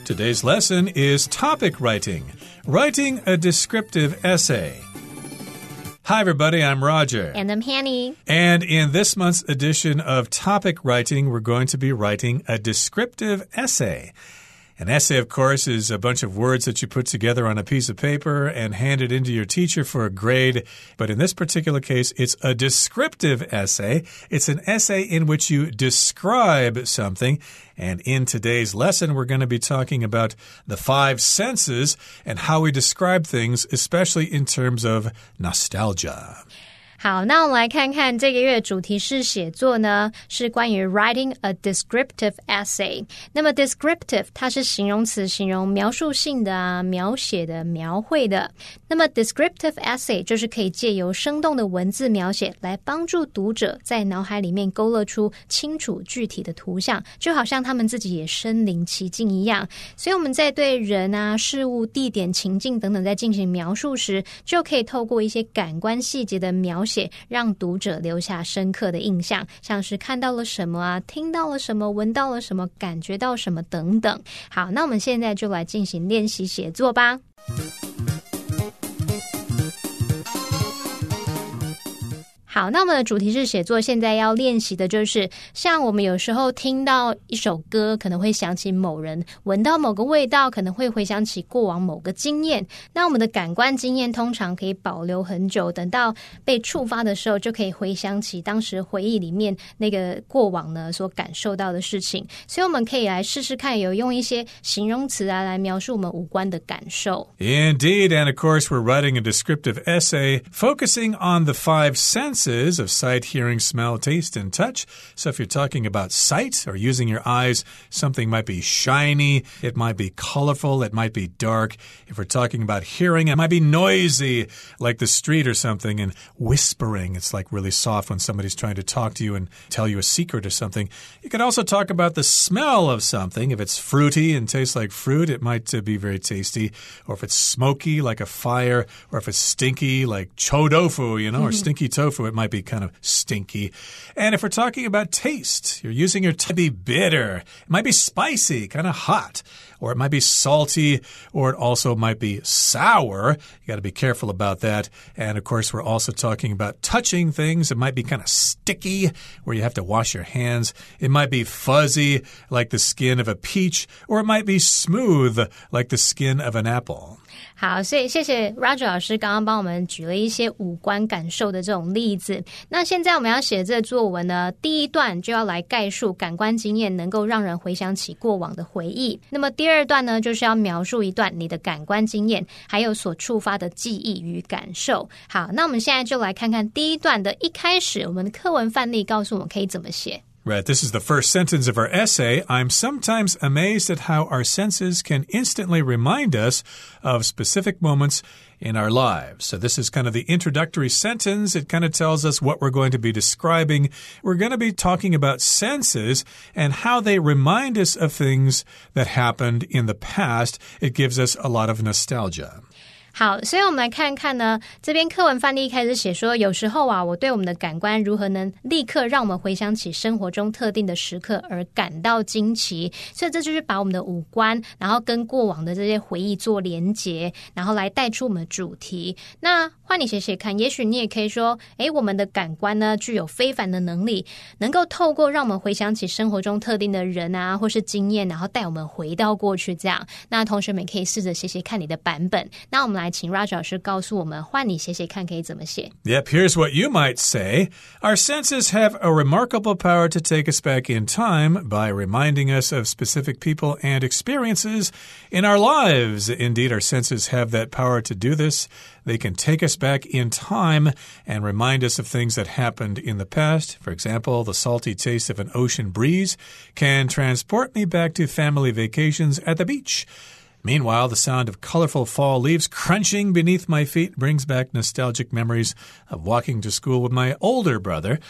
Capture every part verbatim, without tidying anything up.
Today's lesson is topic writing, writing a descriptive essay. Hi, everybody. I'm Roger. And I'm Hanny. And in this month's edition of Topic Writing, we're going to be writing a descriptive essay. An essay, of course, is a bunch of words that you put together on a piece of paper and hand it into your teacher for a grade. But in this particular case, it's a descriptive essay. It's an essay in which you describe something. And in today's lesson, we're going to be talking about the five senses and how we describe things, especially in terms of nostalgia. 好，那我们来看看这個月的主題是寫作呢，是關於 writing a descriptive essay。那麼 descriptive 它是形容詞，形容描述性的啊，描寫的，描繪的。那麼 descriptive essay 就是可以借由生動的文字描寫來幫助讀者在腦海裡面勾勒出清楚具體的圖像，就好像他們自己也身臨其境一樣。所以我們在對人啊、事物、地點、情境等等在進行描述時，就可以透過一些感官細節的描寫讓讀者留下深刻的印象，像是看到了什麼啊，聽到了什麼，聞到了什麼，感覺到什麼等等。好，那我們現在就來進行練習寫作吧。好，那我們的主題是寫作，現在要練習的就是像我們有時候聽到一首歌可能會想起某人，聞到某個味道可能會回想起過往某個經驗。那我們的感官經驗通常可以保留很久，等到被觸發的時候就可以回想起當時回憶裡面那個過往呢所感受到的事情。所以我們可以來試試看，有用一些形容詞啊來描述我們五官的感受。 Indeed, and of course we're writing a descriptive essay focusing on the five senses of sight, hearing, smell, taste, and touch. So if you're talking about sight or using your eyes, something might be shiny, it might be colorful, it might be dark. If we're talking about hearing, it might be noisy, like the street or something, and whispering. It's like really soft when somebody's trying to talk to you and tell you a secret or something. You could also talk about the smell of something. If it's fruity and tastes like fruit, it might uh, be very tasty. Or if it's smoky, like a fire, or if it's stinky, like chou tofu, you know, or stinky tofu, it might be kind of stinky. And if we're talking about taste, you're using your tongue to be bitter. It might be spicy, kind of hot. Or it might be salty, or it also might be sour. You got to be careful about that. And of course, we're also talking about touching things. It might be kind of sticky, where you have to wash your hands. It might be fuzzy, like the skin of a peach, or it might be smooth, like the skin of an apple. 好，所以謝謝 Roger 老師剛剛幫我們舉了一些五官感受的這種例子。那現在我們要寫這個作文呢，第一段就要來概述感官經驗能夠讓人回想起過往的回憶。那麼第二段呢，就是要描述一段你的感官經驗還有所觸發的記憶與感受。好，那我們現在就來看看第一段的一開始，我們的課文範例告訴我們可以怎麼寫。 Right, this is the first sentence of our essay. I'm sometimes amazed at how our senses can instantly remind us of specific moments in our lives. So this is kind of the introductory sentence. It kind of tells us what we're going to be describing. We're going to be talking about senses and how they remind us of things that happened in the past. It gives us a lot of nostalgia. 好，所以我们来看看呢，這邊課文範例一開始寫說，有時候啊，我對我們的感官如何能立刻讓我們回想起生活中特定的時刻而感到驚奇，所以這就是把我們的五官，然後跟過往的這些回憶做連結，然後來帶出我們的主題。那換你寫寫看，也許你也可以說，誒，我們的感官呢，具有非凡的能力，能夠透過讓我們回想起生活中特定的人啊，或是經驗，然後帶我們回到過去這樣。那同學們可以試着寫寫看你的版本。那我們來請 Roger 老師告訴我們，換你寫寫看可以怎麼寫。 Yep, here's what you might say. Our senses have a remarkable power to take us back in time by reminding us of specific people and experiences in our lives. Indeed, our senses have that power to do this. They can take us back in time and remind us of things that happened in the past. For example, the salty taste of an ocean breeze can transport me back to family vacations at the beach. Meanwhile, the sound of colorful fall leaves crunching beneath my feet brings back nostalgic memories of walking to school with my older brother.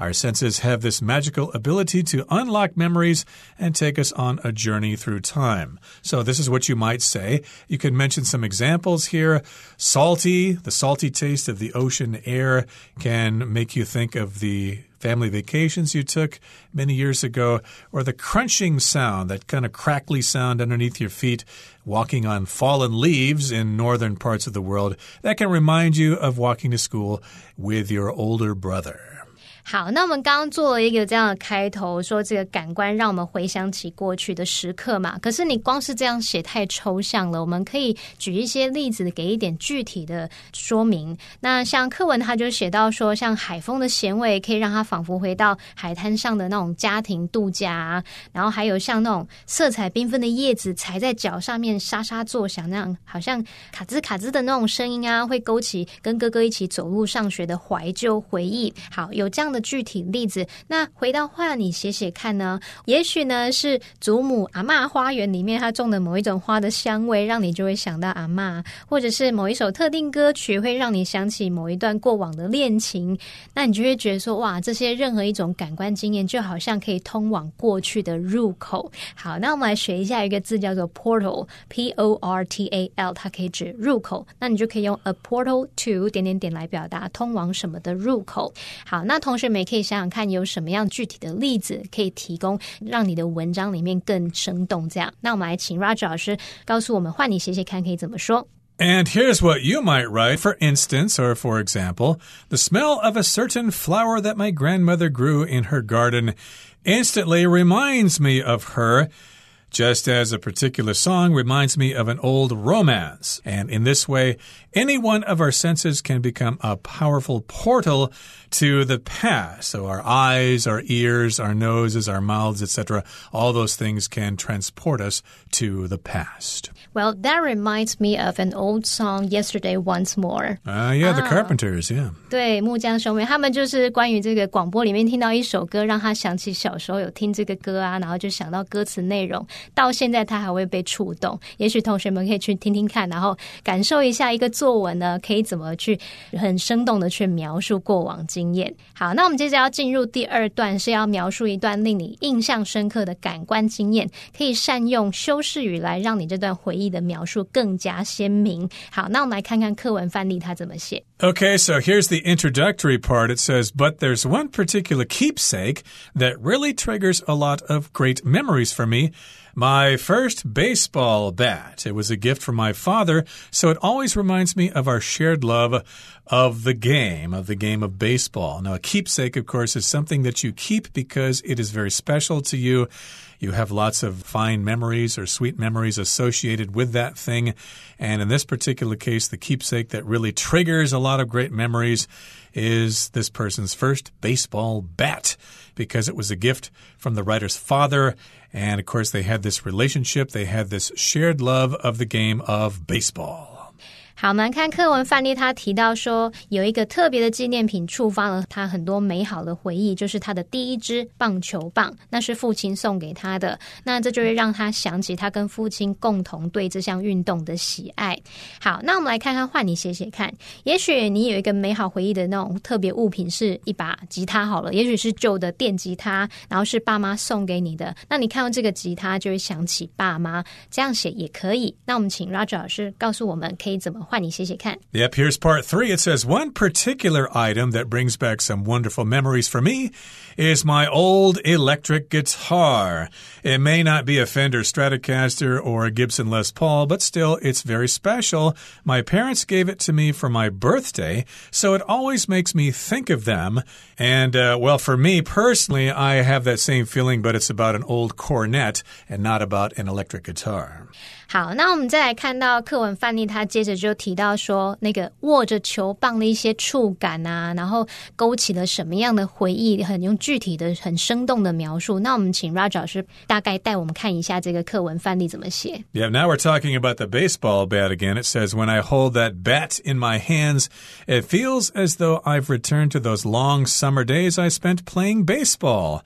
Our senses have this magical ability to unlock memories and take us on a journey through time. So this is what you might say. You could mention some examples here. Salty, the salty taste of the ocean air can make you think of the family vacations you took many years ago, or the crunching sound, that kind of crackly sound underneath your feet, walking on fallen leaves in northern parts of the world. That can remind you of walking to school with your older brother. 好，那我们刚剛做了一個這樣的開頭，說這個感官讓我們回想起過去的時刻嘛。可是你光是這樣寫太抽象了，我們可以舉一些例子，給一點具體的說明。那像課文他就寫到說，像海風的鹹味可以讓他仿佛回到海灘上的那種家庭度假啊，然後還有像那種色彩繽紛的葉子踩在腳上面沙沙作響，那樣好像卡茲卡茲的那種聲音啊，會勾起跟哥哥一起走路上學的懷舊回憶。好，有這樣的具體例子，那回到畫你寫寫看呢？也許呢是祖母阿嬷花園裡面她種的某一種花的香味，讓你就會想到阿嬷，或者是某一首特定歌曲會讓你想起某一段過往的戀情，那你就會覺得說，哇，這些任何一種感官經驗就好像可以通往過去的入口。好，那我們來學一下一個字叫做 portal P O R T A L， 它可以指入口，那你就可以用 a portal to 點點點來表達通往什麼的入口。好，那同學們也可以想想看有什麼樣具體的例子可以提供讓你的文章裡面更生動這樣。那我們來請 Roger 老師告訴我們，換你寫寫看可以怎麼說。 And here's what you might write. For instance, or for example, the smell of a certain flower that my grandmother grew in her garden instantly reminds me of her, just as a particular song reminds me of an old romance. And in this way, any one of our senses can become a powerful portal to the past. So our eyes, our ears, our noses, our mouths, et cetera, all those things can transport us to the past. Well, that reminds me of an old song, Yesterday Once More. Uh, yeah, the ah, Carpenters, yeah. 对，木匠兄妹他们就是關於這個廣播裡面聽到一首歌，讓他想起小時候有聽這個歌啊，然後就想到歌詞內容，到現在他還會被觸動。也許同學們可以去聽聽看，然後感受一下一個作文呢，可以怎麼去很生動的去描述過往經驗。好，那我們接着要進入第二段，是要描述一段令你印象深刻的感官經驗，可以善用修飾語來讓你這段回憶的描述更加鮮明。好，那我們來看看課文範例它怎麼寫。 Okay, so here's the introductory part. It says, but there's one particular keepsake that really triggers a lot of great memories for me. My first baseball bat. It was a gift from my father, so it always reminds me of our shared love of the game, of the game of baseball. Now, a keepsake, of course, is something that you keep because it is very special to you. You have lots of fine memories or sweet memories associated with that thing. And in this particular case, the keepsake that really triggers a lot of great memories is this person's first baseball bat, because it was a gift from the writer's father. And, of course, they had this relationship. They had this shared love of the game of baseball. 好，我們看課文範例，他提到說有一個特別的紀念品觸發了他很多美好的回憶，就是他的第一支棒球棒，那是父親送給他的，那這就會讓他想起他跟父親共同對這項運動的喜愛。好，那我們來看看，換你寫寫看，也許你有一個美好回憶的那種特別物品是一把吉他好了，也許是舊的電吉他，然後是爸媽送給你的，那你看到這個吉他就會想起爸媽，這樣寫也可以。那我們請 Roger 老師告訴我們可以怎麼換你寫寫看。 Yep, here's part three. It says, one particular item that brings back some wonderful memories for me is my old electric guitar. It may not be a Fender Stratocaster or a Gibson Les Paul, but still, it's very special. My parents gave it to me for my birthday, so it always makes me think of them. And, uh, well, for me personally, I have that same feeling, but it's about an old cornet and not about an electric guitar. 好，那我們再來看到課文範例，他接着就提到說那個握着球棒的一些觸感啊，然後勾起了什麼樣的回憶，很用具體的很生動的描述。那我們請 Roger 老師大概帶我們看一下這個課文範例怎麼寫。 Yeah, now we're talking about the baseball bat again. It says, when I hold that bat in my hands, it feels as though I've returned to those long summer days I spent playing baseball.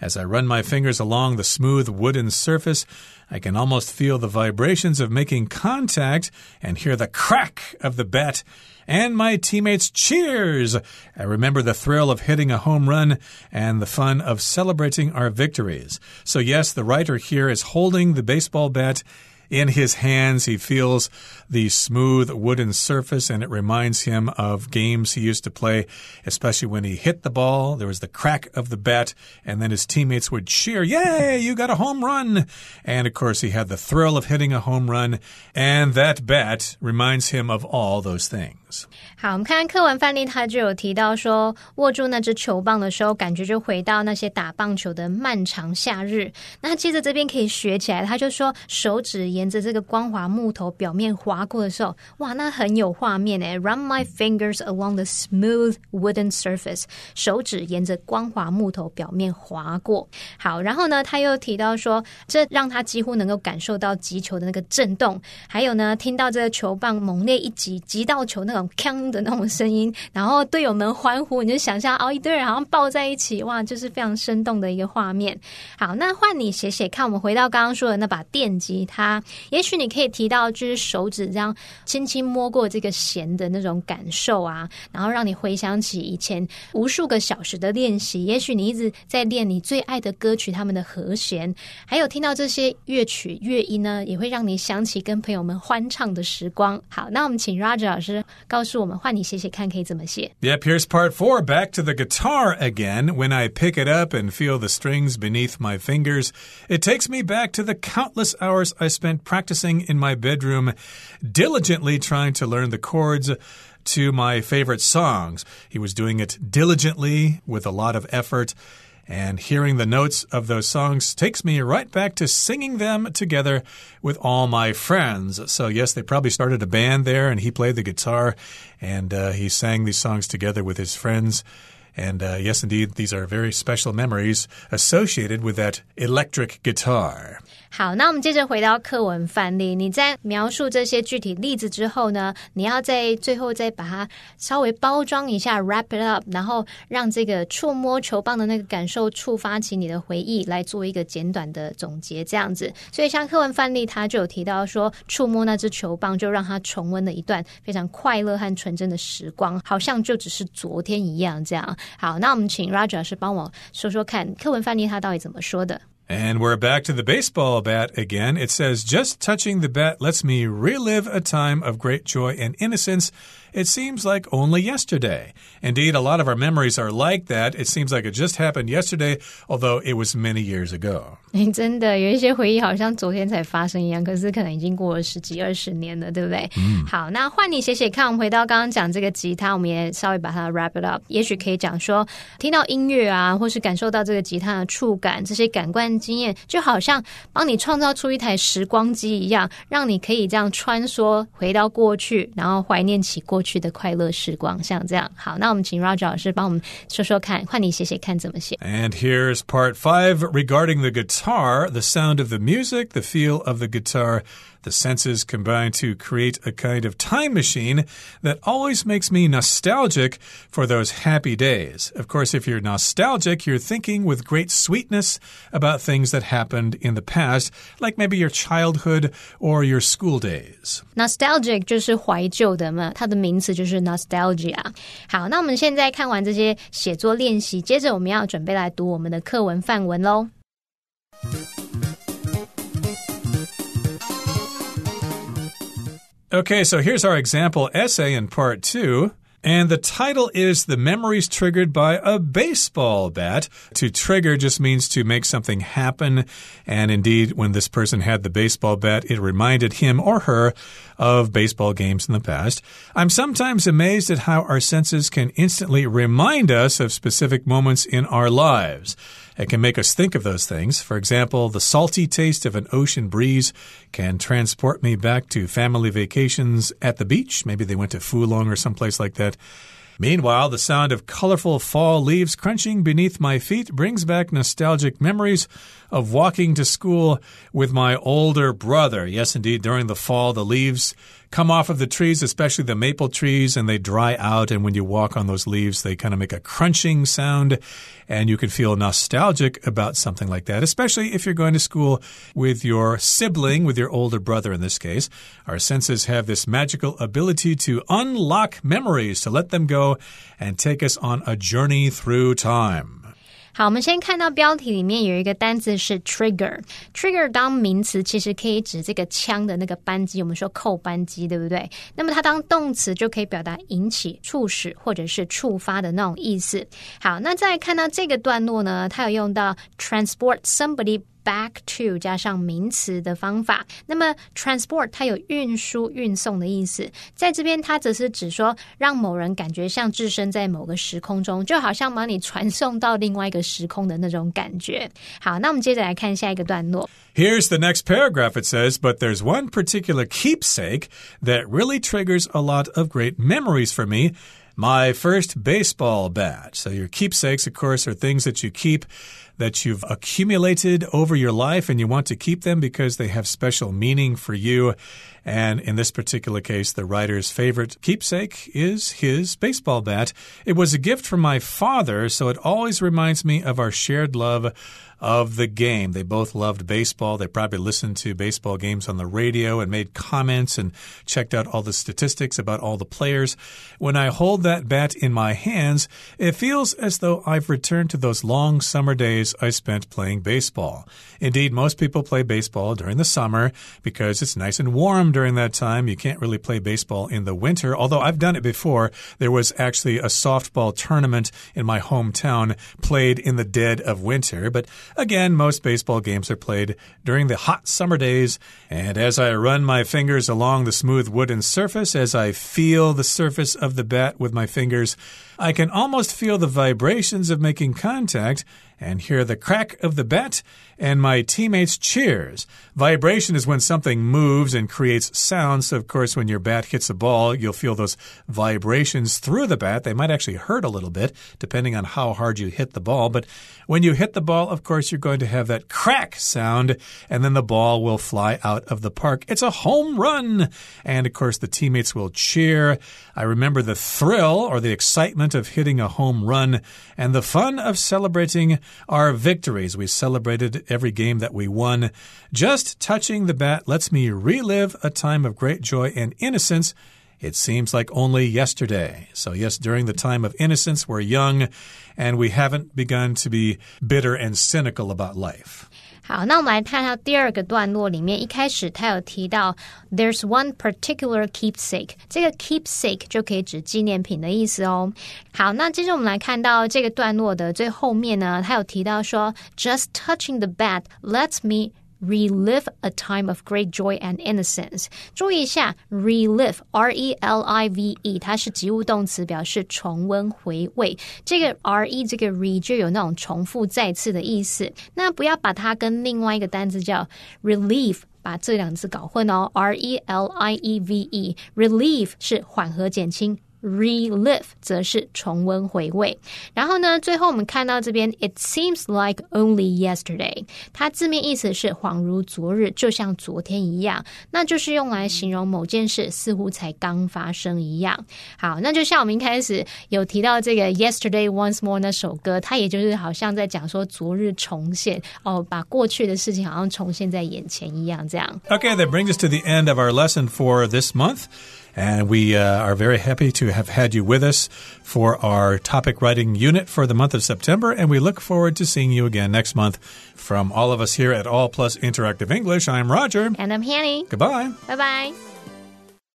As I run my fingers along the smooth wooden surface, I can almost feel the vibrations of making contact and hear the crack of the bat and my teammates' cheers. I remember the thrill of hitting a home run and the fun of celebrating our victories. So yes, the writer here is holding the baseball bat in his hands. He feels the smooth wooden surface, and it reminds him of games he used to play, especially when he hit the ball. There was the crack of the bat, and then his teammates would cheer, "Yay, you got a home run!" And, of course, he had the thrill of hitting a home run, and that bat reminds him of all those things. 好，我们看課文範例，他就有提到說，握住那支球棒的時候，感覺就回到那些打棒球的漫長夏日。那接着這邊可以學起來，他就說手指沿着這個光滑木頭表面劃過的時候，哇，那很有畫面誒 Run my fingers along the smooth wooden surface， 手指沿着光滑木頭表面劃過。好，然後呢，他又提到說，這讓他幾乎能夠感受到擊球的那個震動，還有呢，聽到這個球棒猛烈一擊，擊到球那種鏘的那種聲音，然後隊友們歡呼，你就想象哦，一堆人好像抱在一起，哇，就是非常生動的一個畫面。好，那換你寫寫看，我們回到剛剛說的那把電吉他，也許你可以提到就是手指這樣輕輕摸過這個弦的那種感受啊，然後讓你回想起以前無數個小時的練習，也許你一直在練你最愛的歌曲他們的和弦，還有聽到這些樂曲樂音呢，也會讓你想起跟朋友們歡唱的時光。好，那我們請 Roger 老師告訴我們，換你寫寫看可以怎麼寫。 Yep, here's part four. Back to the guitar again. When I pick it up and feel the strings beneath my fingers, it takes me back to the countless hours I spent practicing in my bedroom, diligently trying to learn the chords to my favorite songs. He was doing it diligently with a lot of effort. And hearing the notes of those songs takes me right back to singing them together with all my friends. So, yes, they probably started a band there, and he played the guitar, and uh, he sang these songs together with his friends. And uh, yes, indeed, these are very special memories associated with that electric guitar. 好，那我們接着回到課文範例。你在描述這些具體例子之後呢，你要在最後再把它稍微包裝一下 wrap it up， 然後讓這個觸摸球棒的那個感受觸發起你的回憶，來做一個簡短的總結這樣子。所以像課文範例他就有提到說，觸摸那支球棒就讓他重溫了一段非常快樂和純真的時光，好像就只是昨天一樣這樣。好，那我們請 Roger 老師幫我說說看課文範例他到底怎麼說的。 And we're back to the baseball bat again. It says, just touching the bat lets me relive a time of great joy and innocence. It seems like only yesterday. Indeed, a lot of our memories are like that. It seems like it just happened yesterday, although it was many years ago. 真的有一些回憶好像昨天才發生一樣，可是可能已經過了十幾二十年了，對不對？嗯。好，那換你寫寫看，我們回到剛剛講這個吉他，我們也稍微把它 wrap it up。也許可以講說，聽到音樂啊，或是感受到這個吉他的觸感，這些感官經驗，就好像幫你創造出一台時光機一樣，讓你可以這樣穿梭回到過去，然後懷念起過去的快樂時光，像這樣。好，那我們請 Roger 老師幫我們說說看，換你寫寫看怎麼寫。 And here's part five regarding the guitar, the sound of the music, the feel of the guitar. The senses combine to create a kind of time machine that always makes me nostalgic for those happy days. Of course, if you're nostalgic, you're thinking with great sweetness about things that happened in the past, like maybe your childhood or your school days. Nostalgic 就是懷舊的嘛，它的名詞就是 nostalgia。好，那我們現在看完這些寫作練習，接着我們要準備來讀我們的課文範文咯。 Okay, so here's our example essay in part two. And the title is The Memories Triggered by a Baseball Bat. To trigger just means to make something happen. And indeed, when this person had the baseball bat, it reminded him or her of baseball games in the past. I'm sometimes amazed at how our senses can instantly remind us of specific moments in our lives. It can make us think of those things. For example, the salty taste of an ocean breeze can transport me back to family vacations at the beach. Maybe they went to Fulong or someplace like that. Meanwhile, the sound of colorful fall leaves crunching beneath my feet brings back nostalgic memories of walking to school with my older brother. Yes, indeed, during the fall, the leaves come off of the trees, especially the maple trees, and they dry out. And when you walk on those leaves, they kind of make a crunching sound. And you can feel nostalgic about something like that, especially if you're going to school with your sibling, with your older brother in this case. Our senses have this magical ability to unlock memories, to let them go and take us on a journey through time. 好，我們先看到標題裡面有一個單字是 trigger。 trigger 當名詞其實可以指這個槍的那個扳機，我們說扣扳機，對不對？那麼它當動詞就可以表達引起、促使或者是觸發的那種意思。好，那再來看到這個段落呢，它有用到 transport somebody back to 加上名詞的方法。那麼 transport 它有運輸運送的意思，在這邊它則是指說讓某人感覺像置身在某個時空中，就好像把你傳送到另外一個時空的那種感覺。好，那我們接着來看下一個段落。 Here's the next paragraph. It says, but there's one particular keepsake that really triggers a lot of great memories for me. My first baseball bat. So your keepsakes, of course, are things that you keep that you've accumulated over your life, and you want to keep them because they have special meaning for you. And in this particular case, the writer's favorite keepsake is his baseball bat. It was a gift from my father, so it always reminds me of our shared love of the game. They both loved baseball. They probably listened to baseball games on the radio and made comments and checked out all the statistics about all the players. When I hold that bat in my hands, it feels as though I've returned to those long summer days I spent playing baseball. Indeed, most people play baseball during the summer because it's nice and warm during that time. You can't really play baseball in the winter, although I've done it before. There was actually a softball tournament in my hometown played in the dead of winter. But again, most baseball games are played during the hot summer days. And as I run my fingers along the smooth wooden surface, as I feel the surface of the bat with my fingers, I can almost feel the vibrations of making contact and hear the crack of the bat and my teammates' cheers. Vibration is when something moves and creates sound. So, of course, when your bat hits a ball, you'll feel those vibrations through the bat. They might actually hurt a little bit, depending on how hard you hit the ball. But when you hit the ball, of course, you're going to have that crack sound, and then the ball will fly out of the park. It's a home run! And, of course, the teammates will cheer. I remember the thrill or the excitement of hitting a home run and the fun of celebrating our victories. We celebrated every game that we won. Just touching the bat lets me relive a time of great joy and innocence. It seems like only yesterday. So yes, during the time of innocence, we're young and we haven't begun to be bitter and cynical about life. 好，那我們來看到第二個段落裡面，一開始他有提到 there's one particular keepsake， 這個 keepsake 就可以指紀念品的意思哦。好，那接着我們來看到這個段落的最後面呢，他有提到說 just touching the bat lets me relive a time of great joy and innocence. 注意一下 relive R E L I V E 它是及物動詞，表示重溫回味。這個 R E 這個 re 就有那種重複再次的意思，那不要把它跟另外一個單字叫 relieve把這兩個字搞混哦。 R E L I E V E relieve 是緩和減輕，relive 則是重溫回味。然後呢，最後我們看到這邊 It seems like only yesterday， 它字面意思是恍如昨日，就像昨天一樣，那就是用來形容某件事似乎才剛發生一樣。好，那就像我們一開始有提到這個 Yesterday Once More 那首歌，它也就是好像在講說昨日重現哦，把過去的事情好像重現在眼前一樣這樣。 Okay, that brings us to the end of our lesson for this month.And we uh, are very happy to have had you with us for our topic writing unit for the month of September. And we look forward to seeing you again next month. From all of us here at All Plus Interactive English, I'm Roger. And I'm Hanny. Goodbye. Bye-bye.